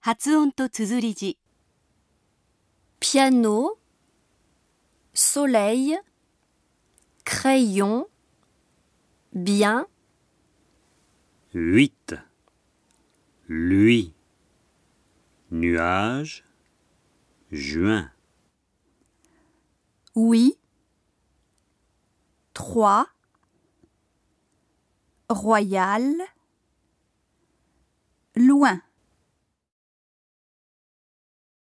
発音と綴り字。 piano, soleil, crayon, bien, 8. Lui. Nuage. Juin. Oui. 3. Royal. Loin.